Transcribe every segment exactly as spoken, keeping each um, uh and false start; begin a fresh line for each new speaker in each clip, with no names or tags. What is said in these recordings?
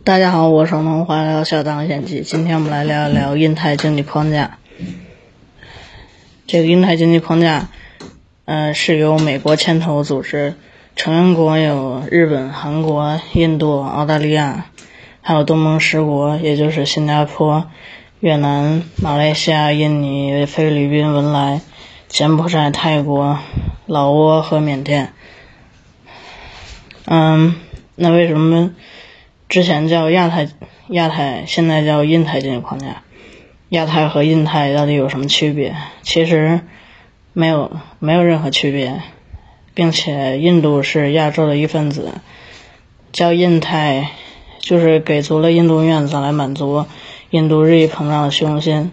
大家好，我是农华聊小当险记。今天我们来聊一聊印太经济框架。这个印太经济框架，呃，是由美国牵头组织，成员国有日本、韩国、印度、澳大利亚，还有东盟十国，也就是新加坡、越南、马来西亚、印尼、菲律宾、文莱、柬埔寨、泰国、老挝和缅甸。嗯，那为什么之前叫亚太亚太，现在叫印太经济框架？亚太和印太到底有什么区别？其实没有没有任何区别，并且印度是亚洲的一份子，叫印太就是给足了印度面子来满足印度日益膨胀的虚荣心。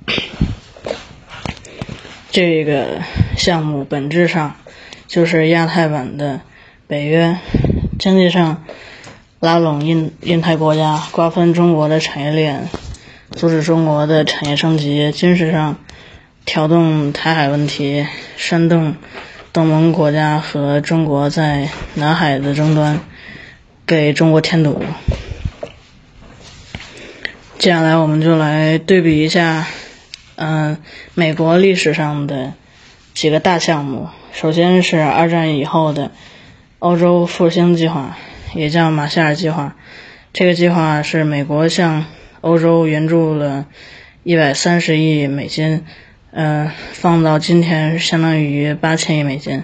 这个项目本质上就是亚太版的北约，经济上拉拢印印太国家，瓜分中国的产业链，阻止中国的产业升级；军事上挑动台海问题，煽动东盟国家和中国在南海的争端，给中国添堵。接下来我们就来对比一下嗯、呃，美国历史上的几个大项目。首先是二战以后的欧洲复兴计划，也叫马歇尔计划。这个计划是美国向欧洲援助了一百三十亿美金，呃，放到今天相当于八千亿美金。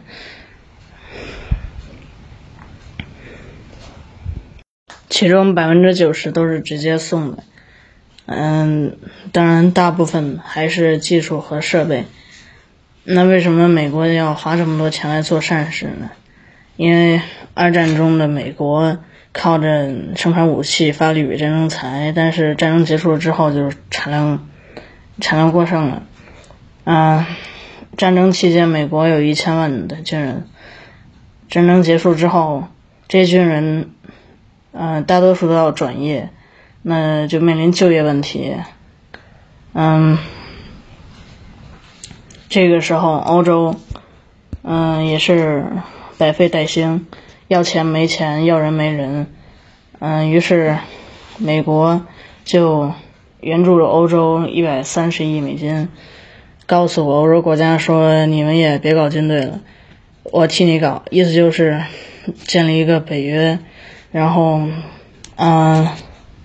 其中百分之九十都是直接送的，嗯，当然大部分还是技术和设备。那为什么美国要花这么多钱来做善事呢？因为二战中的美国靠着生产武器发力比战争财，但是战争结束之后就是产量产量过剩了。啊、呃，战争期间美国有一千万的军人，战争结束之后，这些军人呃大多数都要转业，那就面临就业问题。嗯，这个时候欧洲嗯、呃、也是百废待兴，要钱没钱，要人没人。嗯、呃，于是美国就援助了欧洲一百三十亿美金，告诉欧洲国家说你们也别搞军队了，我替你搞，意思就是建立一个北约，然后嗯、呃，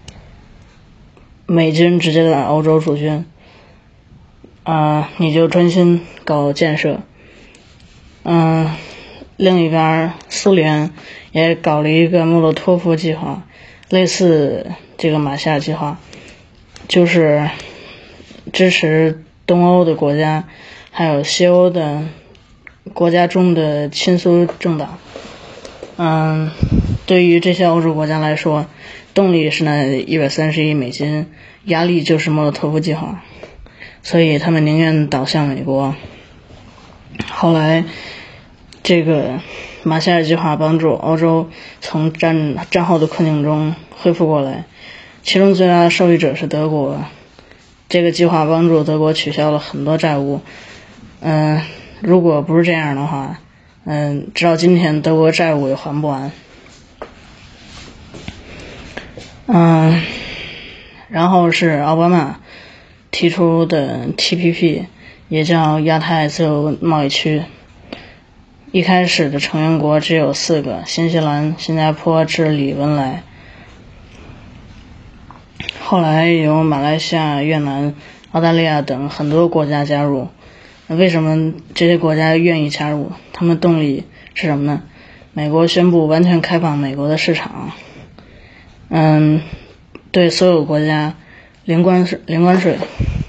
美军直接在欧洲驻军，啊、呃，你就专心搞建设。嗯，另一边苏联也搞了一个莫洛托夫计划，类似这个马歇尔计划，就是支持东欧的国家还有西欧的国家中的亲苏政党。嗯，对于这些欧洲国家来说，动力是那一百三十亿美金，压力就是莫洛托夫计划，所以他们宁愿倒向美国。后来这个马歇尔计划帮助欧洲从战战后的困境中恢复过来，其中最大的受益者是德国。这个计划帮助德国取消了很多债务，嗯、呃，如果不是这样的话，嗯、呃，直到今天德国债务也还不完。嗯、呃，然后是奥巴马提出的 T P P， 也叫亚太自由贸易区。一开始的成员国只有四个：新西兰、新加坡、智利、文莱。后来有马来西亚、越南、澳大利亚等很多国家加入。为什么这些国家愿意加入？他们动力是什么呢？美国宣布完全开放美国的市场，嗯，对所有国家零关税零关税。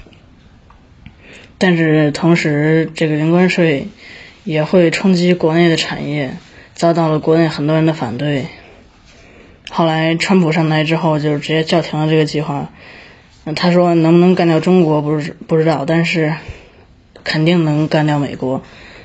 但是同时这个零关税也会冲击国内的产业，遭到了国内很多人的反对。后来川普上台之后就直接叫停了这个计划，他说能不能干掉中国不是不知道，但是肯定能干掉美国。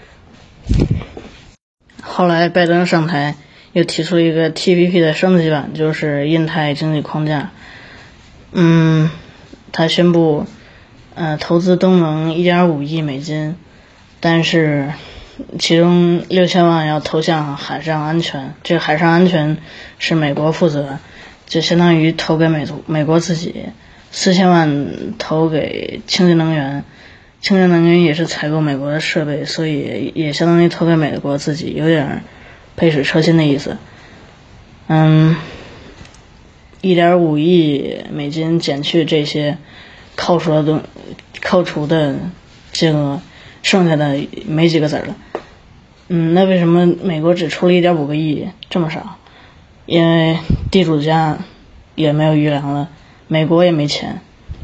后来拜登上台又提出了一个 T P P 的升级版，就是印太经济框架。嗯，他宣布呃投资东盟 一点五亿美金，但是其中六千万要投向海上安全，这个海上安全是美国负责， 就相当于投给美美国自己，四千万投给清洁能源，清洁能源也是采购美国的设备，所以也相当于投给美国自己，有点杯水车薪的意思。嗯，一点五亿美金减去这些扣除的东扣除的金额，剩下的没几个子了。嗯，那为什么美国只出了一点五个亿，这么少？因为地主家也没有余粮了，美国也没钱。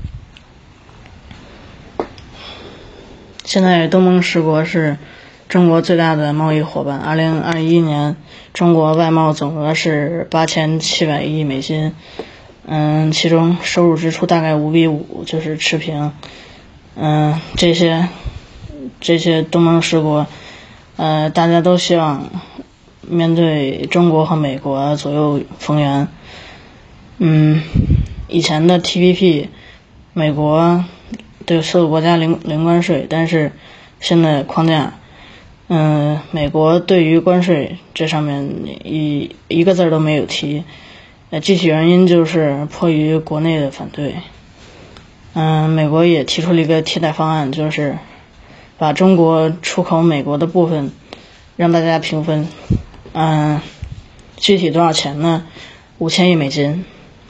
现在东盟十国是中国最大的贸易伙伴。二零二一年，中国外贸总额是八千七百亿美金，嗯，其中收入支出大概五比五，就是持平。嗯，这些这些东盟十国，呃，大家都希望面对中国和美国左右逢源。嗯，以前的 T P P， 美国对所有国家零零关税，但是现在框架，嗯，美国对于关税这上面一一个字都没有提，呃，具体原因就是迫于国内的反对。嗯，美国也提出了一个替代方案，就是把中国出口美国的部分让大家平分。嗯，具体多少钱呢？五千亿美金，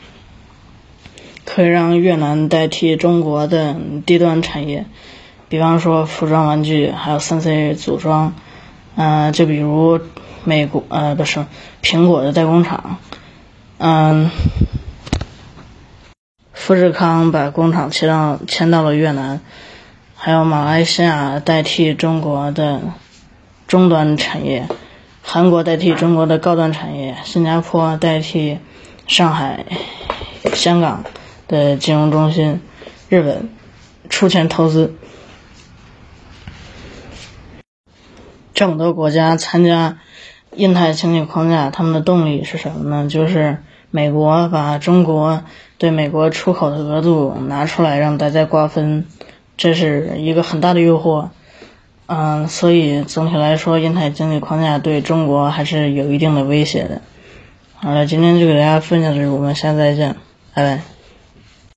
可以让越南代替中国的低端产业，比方说服装玩具，还有三 C 组装。嗯，就比如美国呃不是苹果的代工厂，嗯。富士康把工厂迁到迁到了越南，还有马来西亚代替中国的中端产业，韩国代替中国的高端产业，新加坡代替上海、香港的金融中心，日本出钱投资。这么多国家参加印太经济框架，他们的动力是什么呢？就是美国把中国对美国出口的额度拿出来让大家瓜分，这是一个很大的诱惑。嗯，所以总体来说，印太经济框架对中国还是有一定的威胁的。好了，今天就给大家分享这，我们下次再见，拜拜。